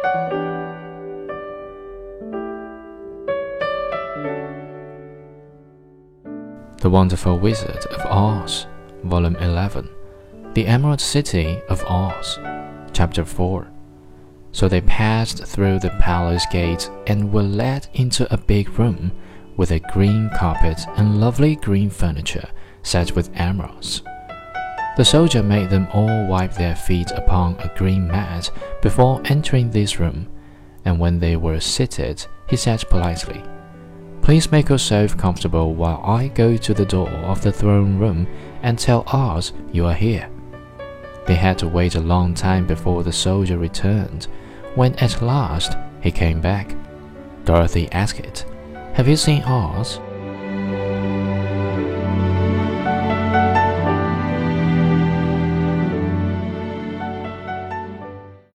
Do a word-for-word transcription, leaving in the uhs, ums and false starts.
The Wonderful Wizard of Oz, Volume eleven, The Emerald City of Oz, Chapter four. So they passed through the palace gate and were led into a big room with a green carpet and lovely green furniture set with emeralds. The soldier made them all wipe their feet upon a green mat before entering this room, and when they were seated, he said politely, "Please make yourself comfortable while I go to the door of the throne room and tell Oz you are here." They had to wait a long time before the soldier returned. When at last he came back, Dorothy asked, "Have you seen Oz?"